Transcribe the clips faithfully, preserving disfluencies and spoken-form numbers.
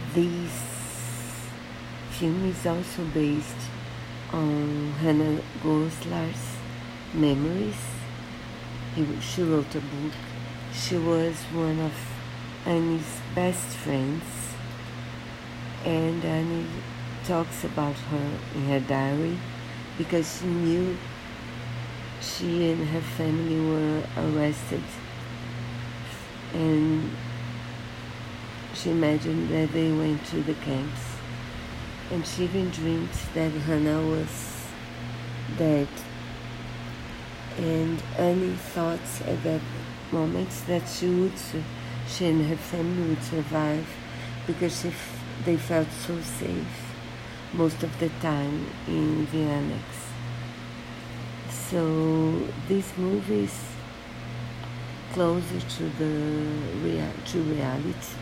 This film is also based on Hannah Goslar's memories. He, she wrote a book. She was one of Annie's best friends, and Annie talks about her in her diary because she knew she and her family were arrested, and she imagined that they went to the camps, and she even dreamed that Hannah was dead. And Annie thought at that moment that she would, she and her family would survive because she, they felt so safe most of the time in the annex. So this movie is closer to the rea- to reality.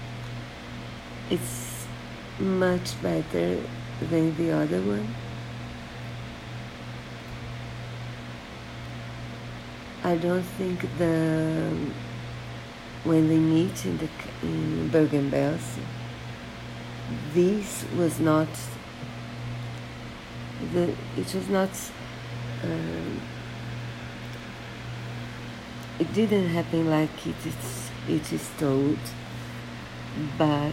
It's much better than the other one. I don't think the when they meet in the in Bergen-Belsen, this was not the it was not um, it didn't happen like it is it is told, but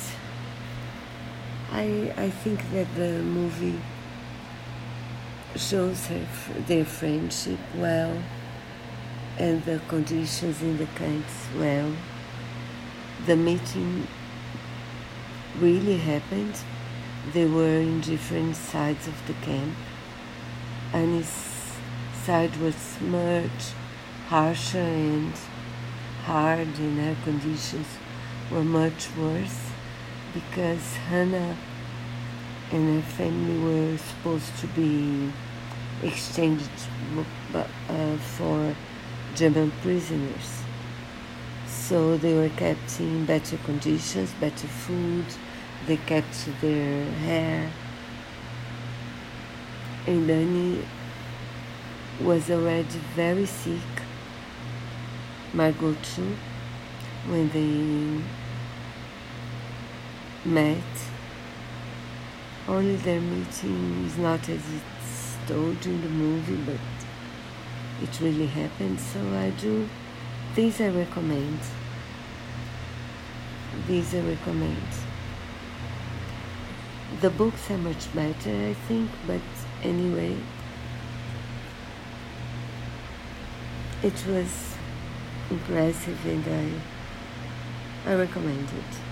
I I think that the movie shows her, their friendship well, and the conditions in the camps well. The meeting really happened. They were in different sides of the camp. Annie's side was much harsher and hard, and her conditions were much worse because Hannah and her family were supposed to be exchanged uh, for German prisoners. So they were kept in better conditions, better food, they kept their hair. And Annie was already very sick, Margot too, when they met. Only their meeting is not as it's told in the movie, but it really happened. So I do, these I recommend. These I recommend. The books are much better, I think, but anyway, it was impressive, and I, I recommend it.